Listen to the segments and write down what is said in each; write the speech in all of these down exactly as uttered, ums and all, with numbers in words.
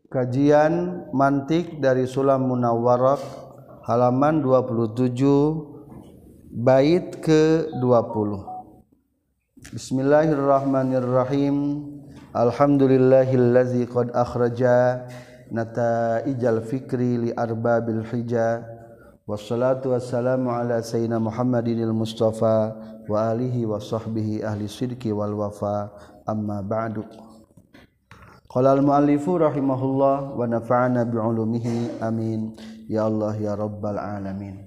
Kajian mantik dari Sulam Munawwarah halaman dua puluh tujuh bait ke dua puluh. Bismillahirrahmanirrahim. Alhamdulillahillazi qad akhraja nataijal fikri li arbabil hija. Wassalatu wassalamu ala sayyidina Muhammadinil Mustafa wa alihi wa sahbihi ahli sidqi wal wafa. Amma ba'du. Qala al-muallifu rahimahullah wa nafa'ana bi'ulumihi amin ya Allah ya rabbal alamin.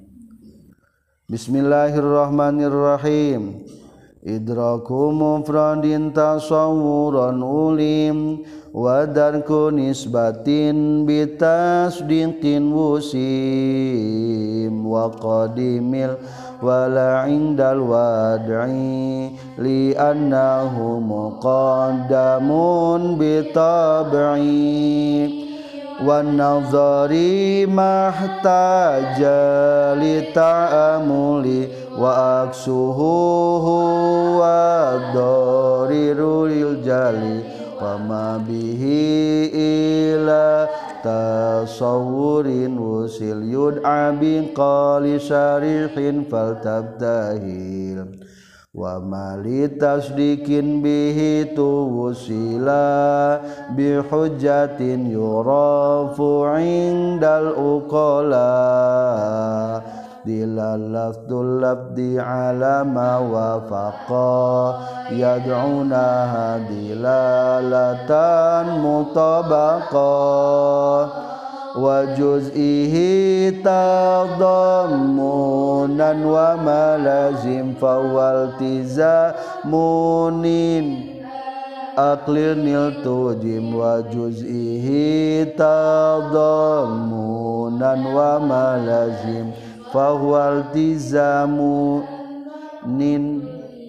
Bismillahirrahmanirrahim. Idraku mufradin tasawwuran ulim wa darku nisbatin bitasdiqin wusim wa qadimil wala indal wad'i li annahu muqaddamun bitab'i wan nazari mahtaja li ta'amuli wa aksuhu wa darirul jali wa ma bihi ila tasawurin wusil yud'a bin qali syarihin faltabtahil wa mali tasdikin bihi tuwusila bihujjatin yurafu indal uqala dilalafdul labdi ala ma wafaqa yad'una dilalatan mutabaqa wa juz'ihi tadammunan wa malazim fawaltizamunin aqlinil tujim wa juz'ihi tadammunan wa malazim fawaltizamunin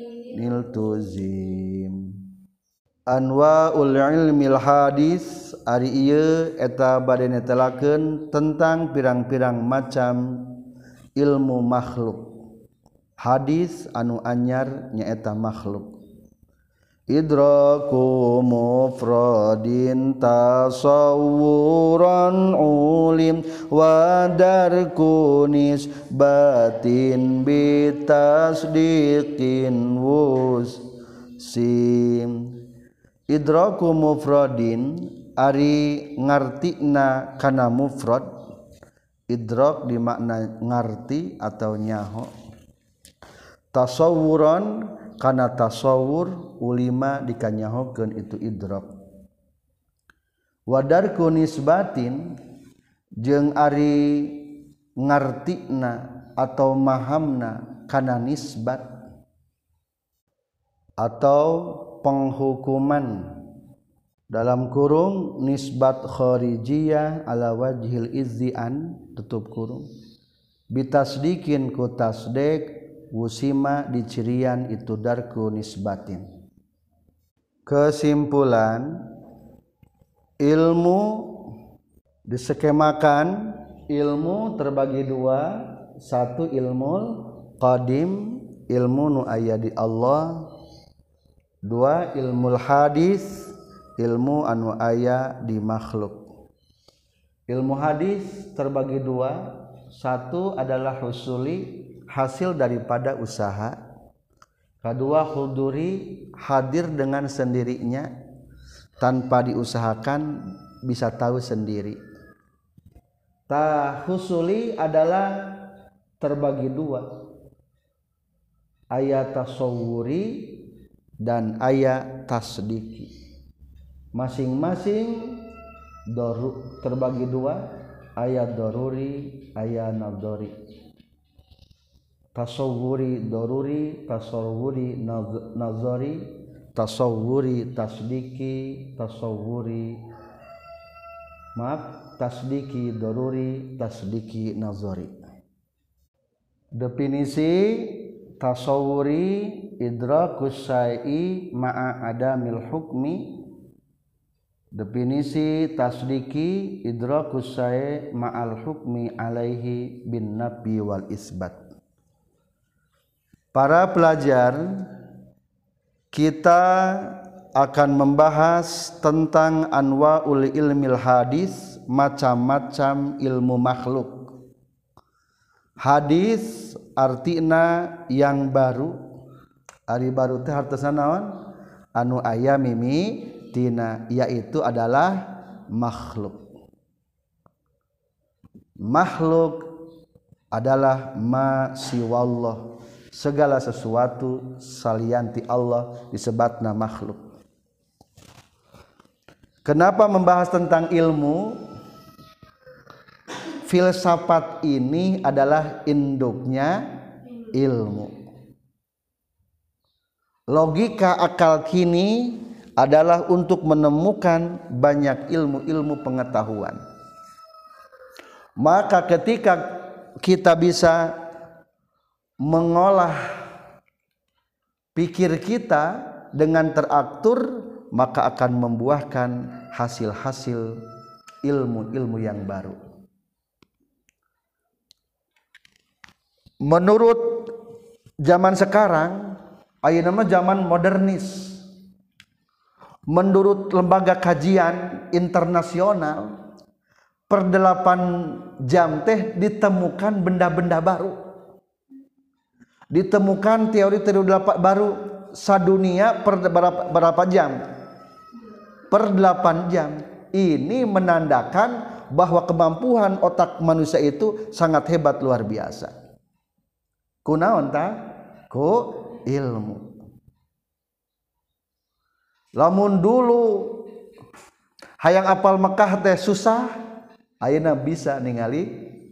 niltuzim. Anwaul ilmil hadis ari ieu eta bade netelakeun tentang pirang-pirang macam ilmu makhluk. Hadis anu anyar nyaeta makhluk. Idraku mufradin tasawwuran ulim wa darku nisbatin bitasdiqin wusim. Idraku mufradin ari ngartina kana mufrad. Idrak dimakna ngarti atau nyaho. Tasawuran kana tasawur ulima dikanyahokeun itu idrak. Wadarku nisbatin jeung ari ngartina atau mahamna kana nisbat atau penghukuman dalam kurung nisbat kharijiyah ala wajhil izzian tutup kurung bitasdikin ku tasdik wusima dicirian itu darku nisbatin. Kesimpulan ilmu diskemakan ilmu terbagi dua. Satu ilmu qadim ilmu nu aya di Allah. Dua ilmu hadis ilmu anu aya di makhluk. Ilmu hadis terbagi dua. Satu adalah husuli hasil daripada usaha. Kedua huduri hadir dengan sendirinya tanpa diusahakan bisa tahu sendiri. Ta husuli adalah terbagi dua. Ayat tasawuri dan ayat tasdiki. Masing-masing doru, terbagi dua. Ayat doruri, ayat nadori. Tasawuri doruri, tasawuri nazari, tasawuri tasdiki, tasawuri maaf tasdiki doruri, tasdiki nazari. Definisi tasawuri idrakus syai'i ma'a adamil hukmi. Definisi tasdiki idrakus syai' ma'al hukmi alaihi bin nafi wal isbat. Para pelajar, kita akan membahas tentang anwaul ilmil hadis, macam-macam ilmu makhluk. Hadis artina yang baru. Ari baru teh hartosna naon? Anu aya mimi tina, yaitu adalah makhluk. Makhluk adalah ma siwallah, segala sesuatu salianti Allah disebutna makhluk. Kenapa membahas tentang ilmu? Filsafat ini adalah induknya ilmu. Logika akal kini adalah untuk menemukan banyak ilmu-ilmu pengetahuan. Maka ketika kita bisa mengolah pikir kita dengan teratur, maka akan membuahkan hasil-hasil ilmu-ilmu yang baru. Menurut zaman sekarang, ayeuna mah zaman modernis. Menurut lembaga kajian internasional, per delapan jam teh ditemukan benda-benda baru, ditemukan teori-teori baru sadunia per berapa, berapa jam? Per delapan jam. Ini menandakan bahwa kemampuan otak manusia itu sangat hebat, luar biasa. Kunaon tah? Ku ilmu. Lamun dulu hayang apal Mekah teh susah, ayeuna bisa ningali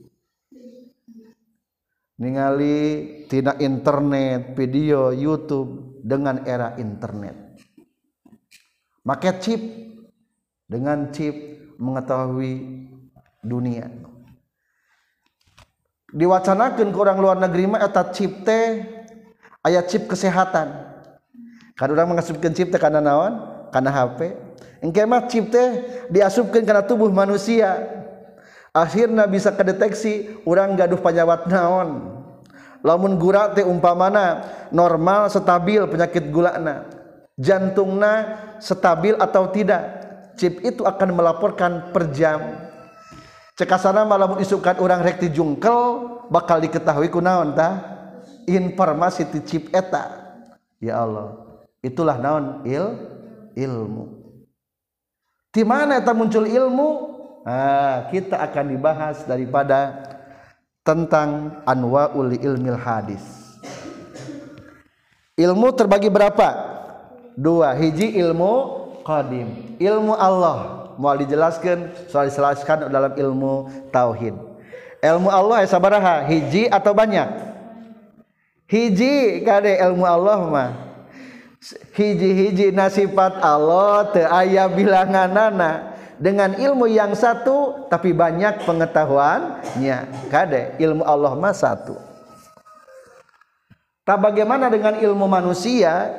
ningali tina internet, video, YouTube dengan era internet. Make chip, dengan chip mengetahui dunia. Diwacanakeun ke orang luar negeri mah eta chip teh aya chip kesehatan. Kan urang mengasupkeun chip teh kana naon? Kana H P. Engke mah chip teh diasupkeun kana tubuh manusia. Akhirna bisa kedeteksi urang gaduh panyawat naon. Lamun gula teh umpamana normal stabil penyakit gulana, jantungna stabil atau tidak, chip itu akan melaporkan per jam. Cekasana malamun isukan urang rek ti jungkel bakal diketahui kunaon tah? Informasi ti chip eta. Ya Allah, itulah naon il ilmu. Di mana eta muncul ilmu? Nah, kita akan dibahas daripada tentang anwaul ilmil hadis. Ilmu terbagi berapa? Dua. Hiji ilmu qadim, ilmu Allah. Mau dijelaskan, soal dijelaskan dalam ilmu tauhid. Ilmu Allah aya sabaraha? Hiji atau banyak? Hiji kade ilmu Allah mah. Hiji-hiji nasifat Allah teu aya bilanganana. Dengan ilmu yang satu tapi banyak pengetahuannya. Kade ilmu Allah mah satu. Tak bagaimana dengan ilmu manusia?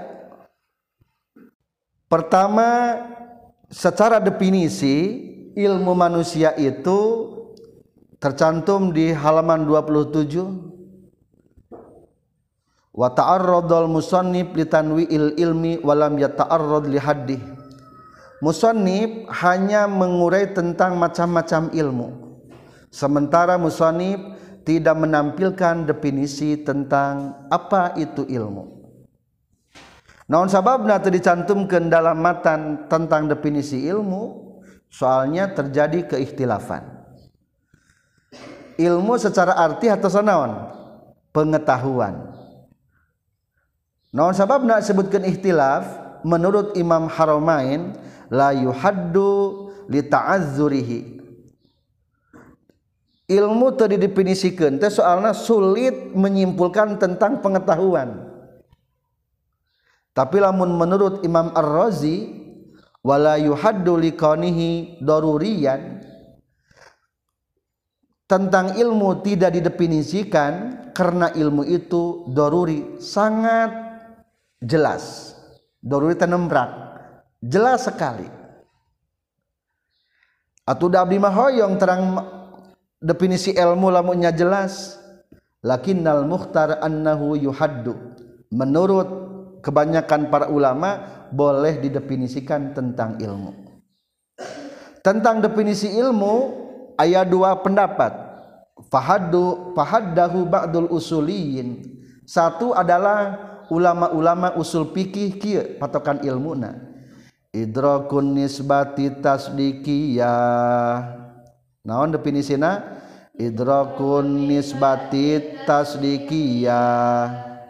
Pertama, secara definisi ilmu manusia itu tercantum di halaman dua puluh tujuh. Wa ta'arradal musannif li tanwi'il ilmi wa lam yata'arrad li haddih. Musannif hanya mengurai tentang macam-macam ilmu, sementara musannif tidak menampilkan definisi tentang apa itu ilmu. Naon sababna teu dicantumkeun dalam matan tentang definisi ilmu? Soalnya terjadi keikhtilafan. Ilmu secara arti atau naon? Pengetahuan. Naon sababna disebutkeun ikhtilaf? Menurut Imam Haramain, la yuhaddu li ta'azzurihi. Ilmu teu didefinisikeun teh soalna sulit menyimpulkan tentang pengetahuan. Tapi lamun menurut Imam Ar-Razi, wala yuhaddu li kaunihi daruriyan, tentang ilmu tidak didefinisikan karena ilmu itu daruri, sangat jelas. Daruri tenembrak, jelas sekali. Atuh da abdi mah hoyong terang definisi ilmu lamunnya jelas. Lakinnal mukhtar annahu yuhaddu. Menurut kebanyakan para ulama boleh didefinisikan tentang ilmu. Tentang definisi ilmu aya dua pendapat. Fahaddu fahaddahu ba'dul usuliyin. Satu adalah ulama-ulama usul fikih kieu patokan ilmuna. Idrakun nisbati tasdiqiyah. Naon definisina? Idrakun nisbati tasdiqiyah.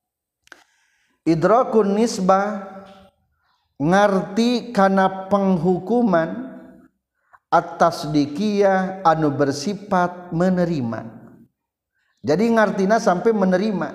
Idrakun nisbah ngarti kana penghukuman at-tasdiqiyah anu bersifat menerima. Jadi ngartina sampai menerima.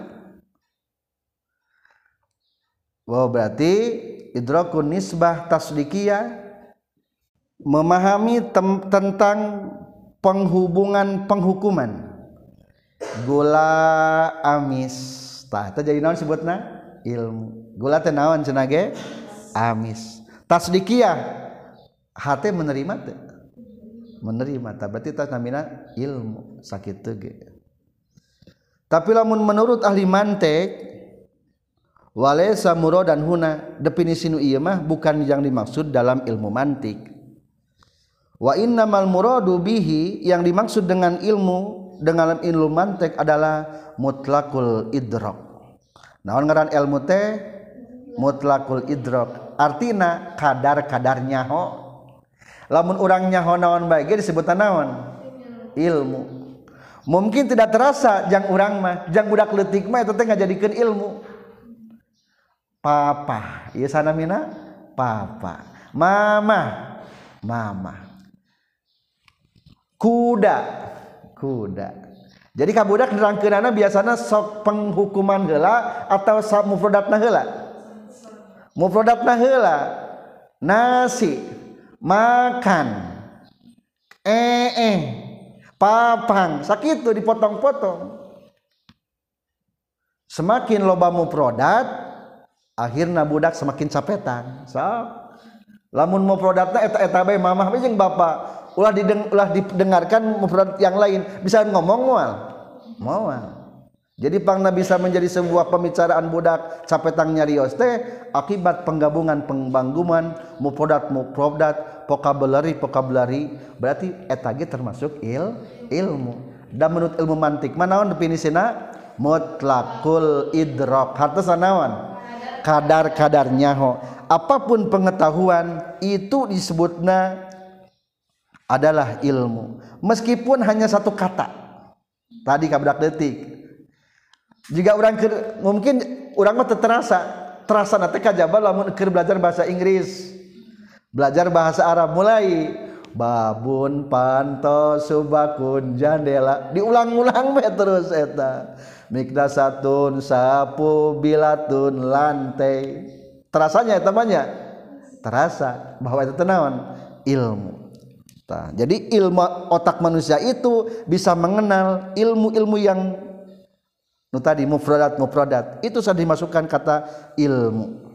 Wow, berarti idrakun nisbah tasdiqiyah memahami tem- tentang penghubungan penghukuman. Gula amis. Tah, teh jadi naon sebutna? Ilmu. Gula teh naon cenah ge? Amis. Tasdiqiyah hate menerima teh. Menerima tah berarti tah namina ilmu sakitu ge. Tapi lamun menurut ahli mantek walaysa muradan huna definisi nu ieu mah bukan yang dimaksud dalam ilmu mantik. Wa innamal muradu bihi yang dimaksud dengan ilmu dengan ilmu mantik adalah mutlaqul idrak. Naon ngaran ilmu teh? Mutlaqul idrak. Artina kadar-kadar nyaho. Lamun urang nyaho naon bae ge disebutna naon? Ilmu. Mungkin tidak terasa jang urang mah, jang budak leutik mah eta teh ngajadikeun ilmu. Papa, ieu sanamina? Papa. Mama, mama. Kuda, kuda. Jadi kabudak nerangkeunana biasana sok penghukuman heula atau sok mufradatna heula? Mufradatna heula. Nasi, makan, eh eh, papang, sakitu dipotong-potong. Semakin loba mufradat, akhirna budak semakin capetan. So, lamun mufradatna eta-eta bae mamah bae jeung bapa. Ulah, dideng, ulah didengarkan mufrad yang lain bisa ngomong moal moal jadi pangna bisa menjadi sebuah pembicaraan budak capetang nyarios teh akibat penggabungan penggabungan mufradat mufradat vocabulary vocabulary berarti eta ge termasuk il ilmu. Dan menurut ilmu mantik mana naon definisina? Mutlaqul idrak hartosna naon? Kadar-kadar nyaho. Apapun pengetahuan itu disebutna adalah ilmu meskipun hanya satu kata tadi kabudak detik jika orang ker, mungkin orang mah terasa terasa nanti kajaba lamun keur belajar bahasa Inggris belajar bahasa Arab mulai babun panto subakun jandela diulang-ulang we terus eta mikdasatun sapu bilatun lantai terasanya eta banyak terasa bahwa itu naon ilmu. Nah, jadi ilmu otak manusia itu bisa mengenal ilmu-ilmu yang nu tadi mufradat mufradat itu sudah dimasukkan kata ilmu.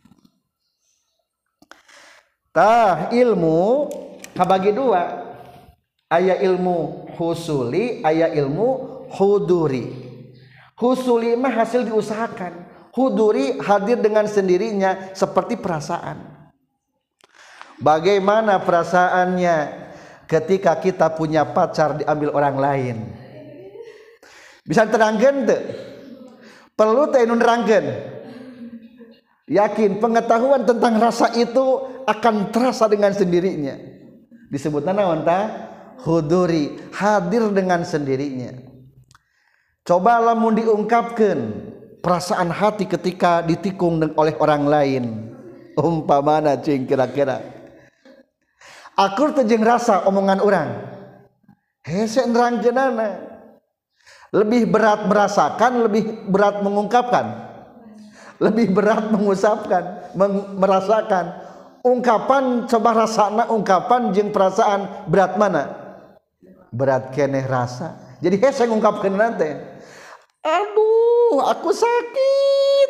Tah ilmu kabagi dua, aya ilmu husuli, aya ilmu huduri. Husuli mah hasil diusahakan, huduri hadir dengan sendirinya seperti perasaan. Bagaimana perasaannya ketika kita punya pacar diambil orang lain? Bisa terangkan tuh? Perlu teh nu nerangkeun. Yakin pengetahuan tentang rasa itu akan terasa dengan sendirinya. Disebutna naon tah? Huduri, hadir dengan sendirinya. Coba lamun diungkapkeun perasaan hati ketika ditikung oleh orang lain. Umpamana cing kira-kira akur teh jeung rasa omongan orang hese nerangkeunana lebih berat merasakan lebih berat mengungkapkan lebih berat mengusapkan merasakan ungkapan coba rasana ungkapan jeung perasaan berat mana berat keneh rasa jadi hese ngungkapkeun teh aduh aku sakit.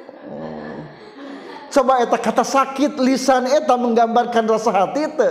Coba eta kata sakit lisan eta menggambarkan rasa hati teh.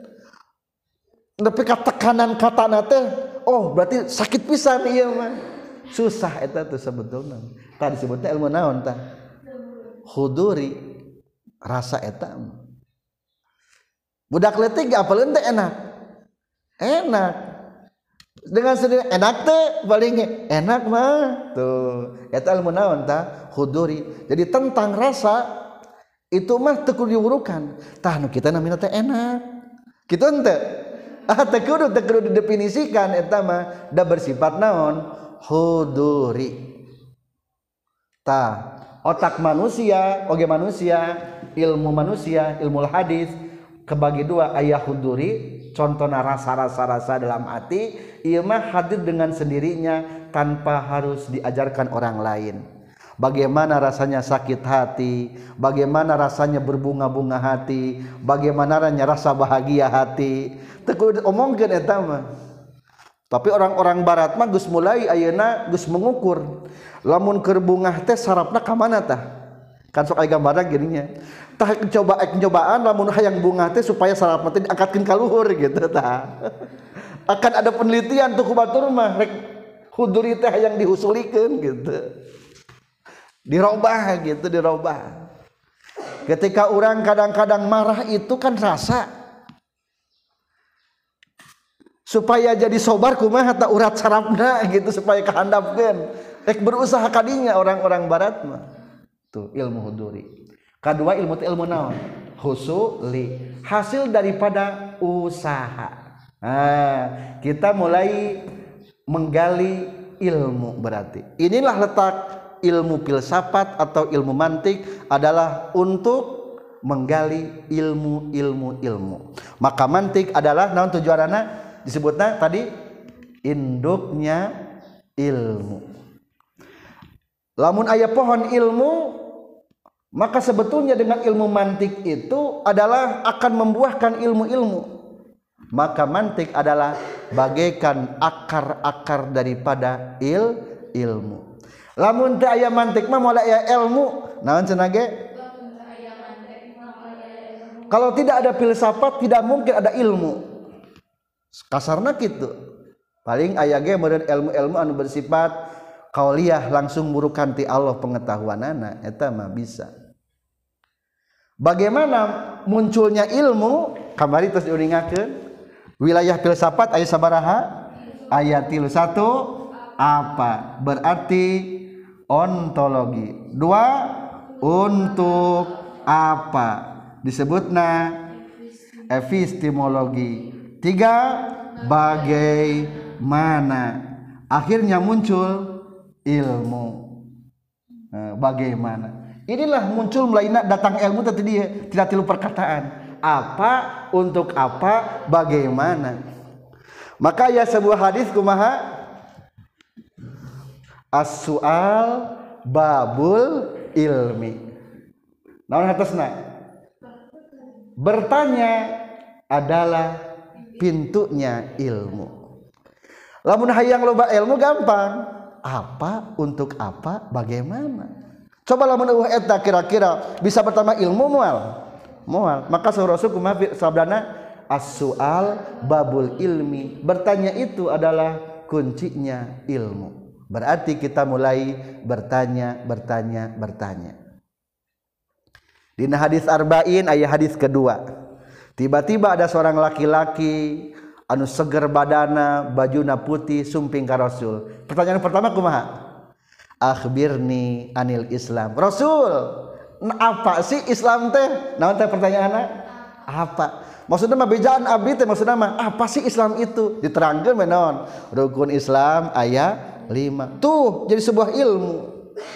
Tapi tekanan kata teh, oh berarti sakit pisan ieu mah. Susah eta tuh sebetulna. Tadi disebutnya ilmu naon tah? huduri rasa eta budak leutik apaleun teh enak enak dengan sendiri enak teh paling enak mah tuh eta ilmu naon tah huduri jadi tentang rasa itu mah teu kudu diurukan tah nu kita namina teh enak kitu henteu ah teu kudu teu kudu didefinisikan eta mah da bersifat naon huduri tah otak manusia oge manusia ilmu manusia ilmu hadis kebagi dua aya huduri contohna rasa-rasa rasa dalam hati ieu mah hadir dengan sendirinya tanpa harus diajarkan orang lain bagaimana rasanya sakit hati bagaimana rasanya berbunga-bunga hati bagaimana rasa bahagia hati teu kudu omongkeun eta mah tapi orang-orang barat mah geus mulai ayeuna geus mengukur lamun keur bungah teh sarafna ka mana tah kan sok aya gambarna geuning nya tah coba ek cobaan lamun hayang bungah teh supaya sarafna teh diangkatkeun ka luhur gitu tah akan ada penelitian tuh ku batur mah rek huduri teh hayang dihusulikeun gitu dirobah gitu dirobah ketika orang kadang-kadang marah itu kan rasa supaya jadi sobar kumaha ta urat sarafna gitu supaya kahandapkeun rek berusaha kadinya orang-orang barat mah tuh ilmu huduri kedua ilmu teh ilmu naon husuli hasil daripada usaha nah kita mulai menggali ilmu berarti inilah letak ilmu filsafat atau ilmu mantik adalah untuk menggali ilmu-ilmu ilmu maka mantik adalah naon tujuanna disebutna tadi induknya ilmu lamun aya pohon ilmu maka sebetulnya dengan ilmu mantik itu adalah akan membuahkan ilmu-ilmu maka mantik adalah bagaikan akar-akar daripada il ilmu lamun teu aya mantik mah moal aya ilmu naon cenah ge kalau tidak ada filsafat tidak mungkin ada ilmu kasarna kitu paling aya ge meureun ilmu-ilmu anu bersifat qauliyah langsung murukan ti Allah pengetahuanana eta mah bisa bagaimana munculnya ilmu kamari tos diuningakeun wilayah filsafat aya sabaraha aya tilu satu apa berarti ontologi dua untuk apa disebutna epistemologi tiga bagaimana akhirnya muncul ilmu nah, bagaimana inilah muncul melaina datang ilmu tadi dia tidak tilu perkataan apa untuk apa bagaimana maka ya sebuah hadis kumaha as-su'al babul ilmi naon hatosna bertanya adalah pintunya ilmu lamun hayang loba ilmu gampang apa untuk apa bagaimana coba lamun eueuh eta kira-kira bisa pertama ilmu moal moal maka saur Rasul kumaha sabdana as-su'al babul ilmi bertanya itu adalah kuncinya ilmu berarti kita mulai bertanya bertanya bertanya dina hadis arba'in aya hadis kedua tiba-tiba ada seorang laki-laki anu seger badana bajuna putih sumping ka Rasul pertanyaan pertama kumaha akhbirni anil Islam Rasul apa sih Islam teh naon teh pertanyaanna apa maksudna mah bejaan abdi teh maksudna mah apa sih Islam itu diterangkeun mah naon rukun Islam aya lima tuh jadi sebuah ilmu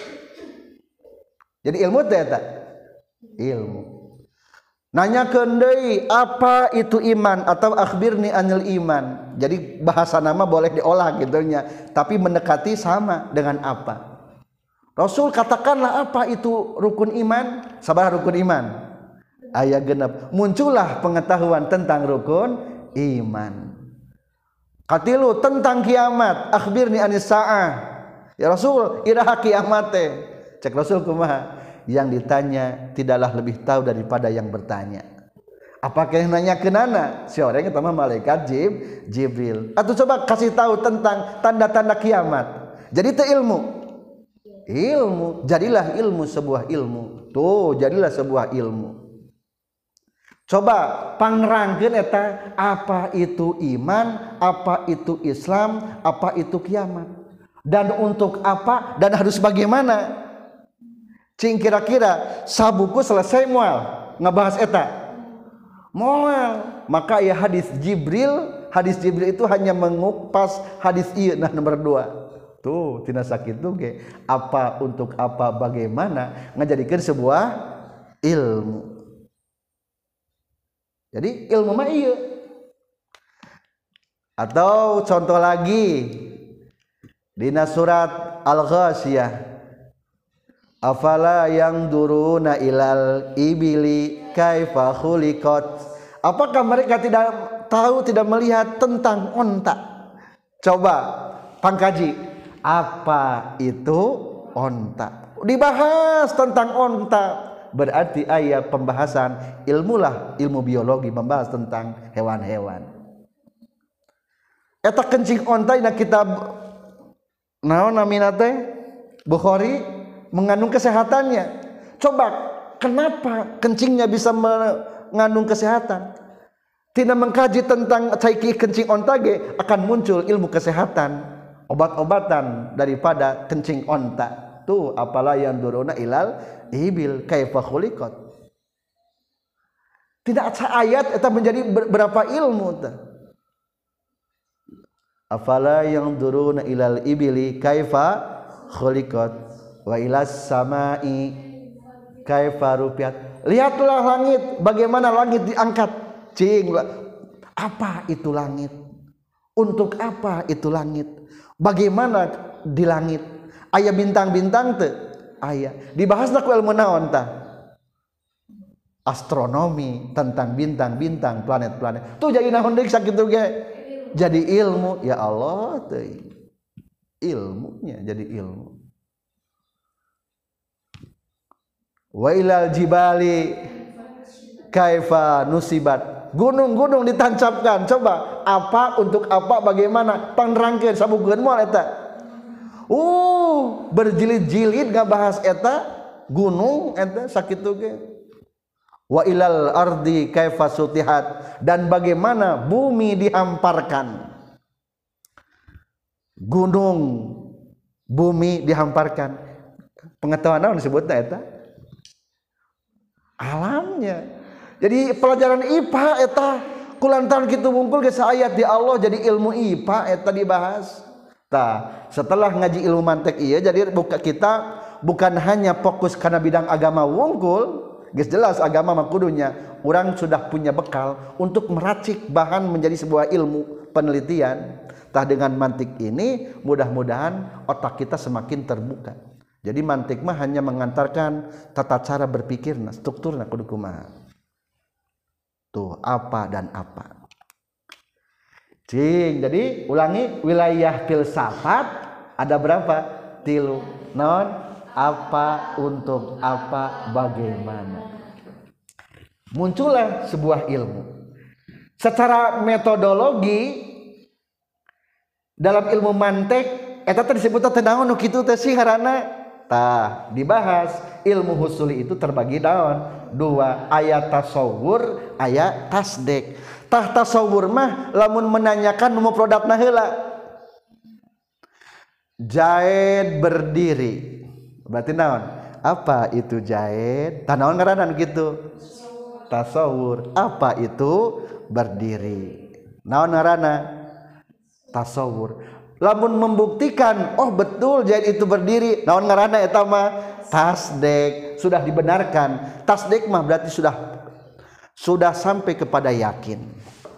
jadi ilmu teh eta ilmu nanyakeun deui apa itu iman atau akhbirni anil iman jadi bahasa nama boleh diolah gitu nya tapi mendekati sama dengan apa Rasul katakanlah apa itu rukun iman sabaraha rukun iman aya genep muncullah pengetahuan tentang rukun iman katilu tentang kiamat akhbirni anis saah ya Rasul iraha kiamat teh cek Rasul kumaha yang ditanya tidaklah lebih tahu daripada yang bertanya apakah yang nanya ke nana si orang itu mah malaikat Jib, Jibril atau coba kasih tahu tentang tanda-tanda kiamat jadi itu ilmu ilmu. Jadilah ilmu sebuah ilmu. Tuh, jadilah sebuah ilmu. Coba pangrangkeun eta apa itu iman, apa itu Islam, apa itu kiamat. Dan untuk apa dan harus bagaimana? Cing kira-kira sabuku selesai moal ngebahas eta. Moal. Maka ya hadis Jibril, hadis Jibril itu hanya mengupas hadis ieu nah nomor dua. Tuh tina sakitu ge apa untuk apa bagaimana ngajadikeun sebuah ilmu. Jadi ilmu mah ieu. Atau contoh lagi dina surat Al-Ghasyiyah, afala yang duruna ilal ibili kaifa khuliqat. Apakah mereka tidak tahu, tidak melihat tentang onta? Coba pangkaji apa itu onta, dibahas tentang onta, berarti ayat pembahasan ilmulah ilmu biologi membahas tentang hewan-hewan. Eta kencing onta dina kitab naon namina teh Bukhari mengandung kesehatannya. Coba kenapa kencingnya bisa mengandung kesehatan? Tina mengkaji tentang caiki kencing onta ge akan muncul ilmu kesehatan, obat-obatan daripada kencing onta. Tuh apalah yang duruna ilal ibil kaifa khuliqat. Tidak ayat eta menjadi berapa ilmu teh. Afala yang duruna ilal ibili kaifa khuliqat wa ilas samai kaifa rupiat. Lihatlah langit, bagaimana langit diangkat. Cing, apa itu langit? Untuk apa itu langit? Bagaimana di langit? Aya bintang-bintang teu? Aya. Dibahasna ku ilmu naon tah? Astronomi, tentang bintang-bintang, planet-planet. Tuh jadi naon deui sakitu ge? Jadi ilmu. Ya Allah teuing. Ilmunya jadi ilmu. Wa ilal jibali kaifa nusibat. Gunung-gunung ditancapkan. Coba apa untuk apa bagaimana panrangkeun sabugeun moal eta. Uh, berjilid-jilid ngabahas eta gunung eta sakitu ge. Wa ilal ardi kaifa sutihat, dan bagaimana bumi dihamparkan. Gunung bumi dihamparkan. Pengetahuan naon disebutna eta? Alamnya. Jadi pelajaran I P A eta kulantaran kitu wungkul ge saayat di Allah jadi ilmu I P A eta dibahas. Tah, setelah ngaji ilmu mantek ieu jadi buka kita bukan hanya fokus karena bidang agama wungkul, geus jelas agama mah kudunya urang sudah punya bekal untuk meracik bahan menjadi sebuah ilmu penelitian. Tah dengan mantik ini mudah-mudahan otak kita semakin terbuka. Jadi mantik mah hanya mengantarkan tata cara berpikirna, strukturna kudu kumaha. Tuh apa dan apa. Cing, jadi ulangi wilayah filsafat ada berapa? Tilu. Non apa untuk apa bagaimana. Muncullah sebuah ilmu. Secara metodologi dalam ilmu mantek eta teh disebutna teh naon nu kitu teh sih ngaranna? Tah dibahas ilmu husuli itu terbagi daun dua, ayat tasawur, ayat tasdek. Tah tasawur mah lamun menanyakan nu mufradatna heula. Jaid berdiri. Berarti naon? Apa itu jaid? Tah naon ngaranna gitu? Tasawur. Apa itu berdiri? Naon ngaranna? Tasawur. Lamun membuktikan oh betul jaid itu berdiri, naon ngaranna eta mah tasdek, sudah dibenarkan. Tasdek mah berarti sudah sudah sampai kepada yakin.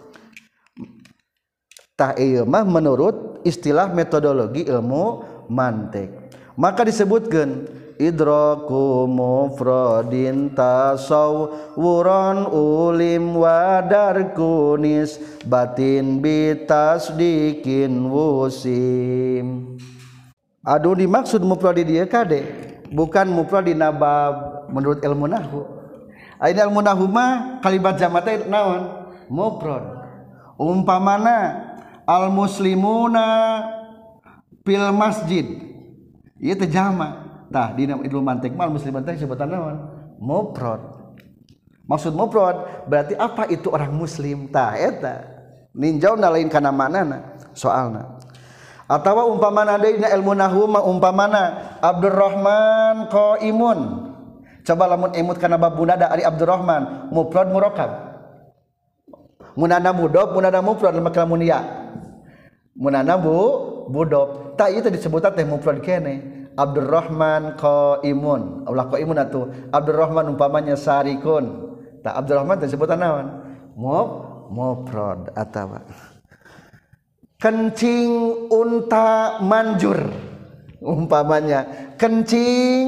Tah ieu mah menurut istilah metodologi ilmu mantik. Maka disebutkeun idraku mufradin tasawwuran ulim wadarkunis batin bitasdikin wusim. Aduh dimaksud mufrad di dieu kade bukan mufrad di nabab menurut ilmu nahwu. Ayeuna ilmu nahwu mah kalimat jamak teh naon? Mufrad. Umpamana al muslimuna fil masjid. Ieu teh jamak. tah dina ilmu mantik mal musliman teh sebutan naon mufrad. Maksud mufrad berarti apa itu orang muslim tah eta ninjauna lain kana manana soalna. Atawa umpamana deui dina ilmu nahwu mah umpamana Abdurrahman qaimun. Coba lamun emut kana bab munada ari Abdurrahman mufrad murakkab. Munana mudhof munana mufrad maka lamun ya. Munana bu mudhof. Tah ieu teh disebutna teh mufrad keneh. Abdurrahman qaimun. Ulah qaimun atuh. Abdurrahman umpamanya sarikun. Tah Abdurrahman teh sebutan naon? Muf mufrad atawa kencing unta manjur. Umpamanya kencing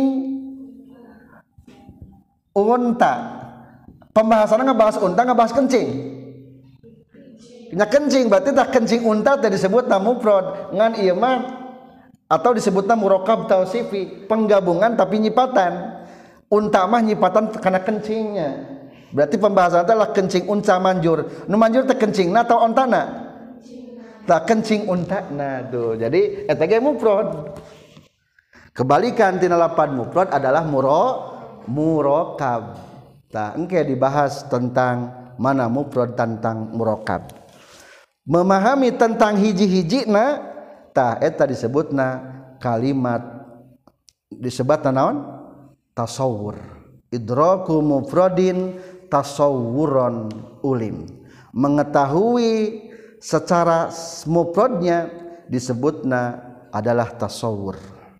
unta. Pembahasanna ngebahas unta ngebahas kencing. Nya kencing berarti tah kencing unta teh disebutna mufrad ngan ieu mah atau disebutna murakkab tausifi penggabungan tapi nyipatan. Unta mah nyipatan karena kencingnya. Berarti pembahasan adalah kencing unta manjur. Nu manjur teh kencingna atau ontana? Tah kencing untana tuh. Jadi eta ge mufrad. Kebalikan tina lapan mufrad adalah muro murakkab. Tah engke dibahas tentang mana mufrad tentang murakkab. Memahami tentang hiji-hijina tah eta disebutna kalimat disebutna naon tasawwur idraku mufradin tasawwuron ulim mengetahui secara mufradnya disebutna adalah tasawwur.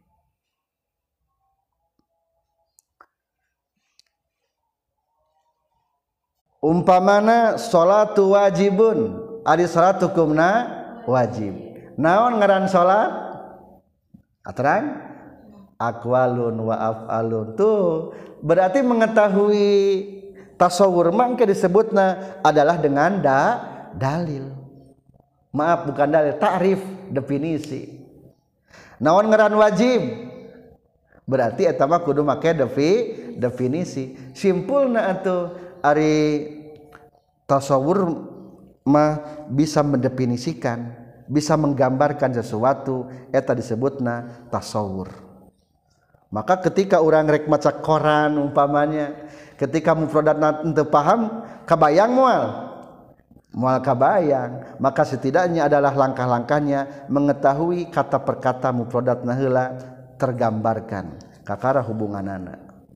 Umpamana salatu wajibun ari salat hukumna wajib. Naon ngaran salat? Aterang aqwalun wa af'alun. Tuh berarti mengetahui tasawur mangke disebutna adalah dengan da, dalil. Maaf bukan dalil, ta'rif, definisi. Naon ngaran wajib? Berarti eta mah kudu make defi, definisi. Simpulna atuh ari tasawur mah bisa mendefinisikan, bisa menggambarkan sesuatu, eta disebutna tasawur. Maka ketika orang rek maca koran umpamanya, ketika mufradatna teu paham, kabayang moal. Moal kabayang, maka setidaknya adalah langkah-langkahnya mengetahui kata per kata mufradatna heula tergambarkan kakara hubunganana.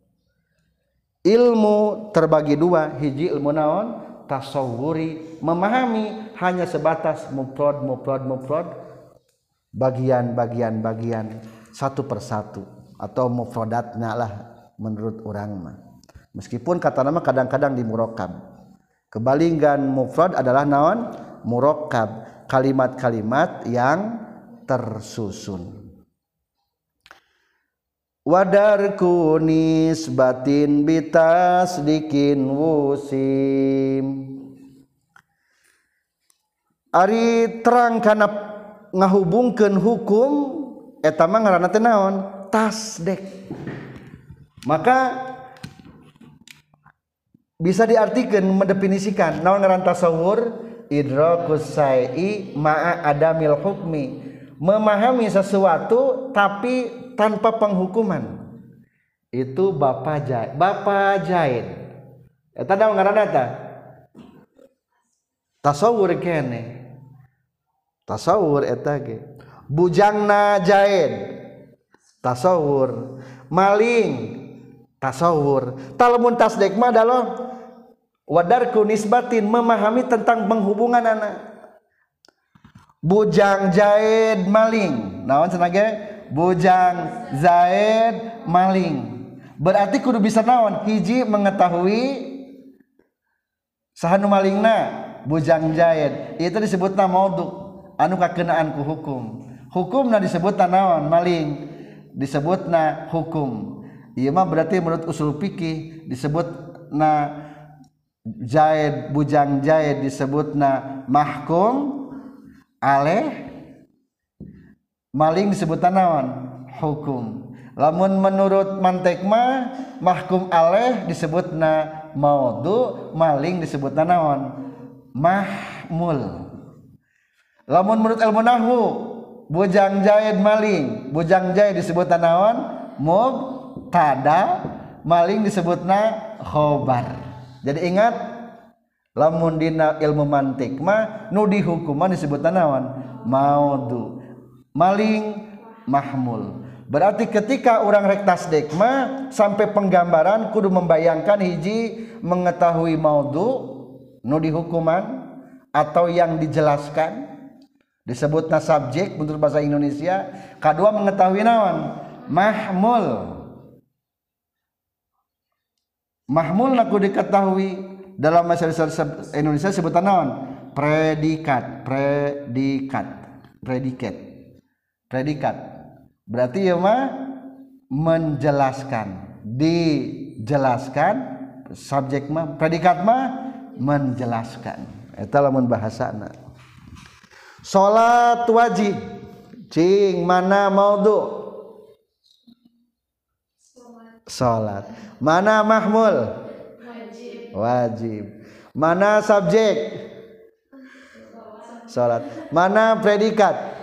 Ilmu terbagi dua, hiji ilmu naon? Tasawuri, memahami hanya sebatas mufrad mufrad mufrad bagian-bagian bagian satu persatu atau mufradatnya lah menurut orang mah. Meskipun kata nama kadang-kadang di murakkab. Kebalingan mufrad adalah naon? Murakkab, kalimat-kalimat yang tersusun. Wadarku nisbatin bitasdikin wusim. Ari terang kana ngahubungkeun hukum eta mah ngaranna teh naon? Tasdek. Maka bisa diartikan mendefinisikan naon ngaran tasawur? Idrakus syai'i ma'a adamil hukmi. Memahami sesuatu tapi tanpa penghukuman. Itu Bapak Jaid. Bapak Jaid. Eta naon ngaranna eta? Tasawur kene. Tasawur eta ge. Bujangna Jaid. Tasawur. Maling. Tasawur. Talamun tasdek mah adalah wadarku nisbatin, memahami tentang penghubungan anak. Bujang Jaid maling. Naon cenah ge? Bujang Zaid maling. Berarti kudu bisa naon? Hiji mengetahui saha nu malingna? Bujang Zaid. Itu disebutna maudhu, anu kakenaan ku hukum. Hukumna disebutna naon? Maling. Disebutna hukum. Ieu mah berarti menurut usul fikih disebutna Zaid, bujang Zaid disebutna mahkum aleh. Maling disebutna naon? Hukum. Lamun menurut mantek mah mahkum aleh disebutna maudhu, maling disebutna naon? Mahmul. Lamun menurut ilmu nahwu bujang Zaid maling, bujang Zaid disebutna naon? mubtada, maling disebutna khobar. Jadi ingat, lamun dina ilmu mantik mah nu dihukuman disebutna naon? Maudhu. Maling mahmul. Berarti ketika orang rek tasdik mah sampai penggambaran kudu membayangkan hiji mengetahui maudhu nu dihukuman atau yang dijelaskan disebutna subjek menurut bahasa Indonesia. Kedua mengetahui naon? Mahmul. Mahmul naku diketahui dalam bahasa Indonesia sebutan naon? Predikat, predikat, predikat, predikat. Berarti ya mah menjelaskan, dijelaskan, subjek mah, predikat mah menjelaskan. Eta lamun bahasana. Salat wajib, cing mana maudhu? Salat. Mana mahmul? Wajib. Wajib. Mana subjek? Salat. Mana predikat?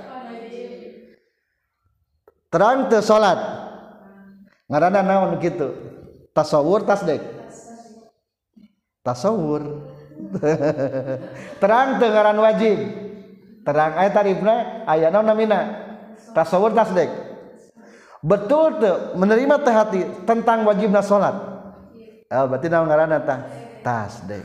Terang teu salat. Ngaranna naon kitu? Tasawur, tasdek. Tasawur. Terang teu ngaran wajib. Terang aya tarifna, aya naon namina? Tasawur, tasdek. Betul teu menerima teh hati tentang wajibna salat. Oh, berarti naon ngaranna tah? Tasdek.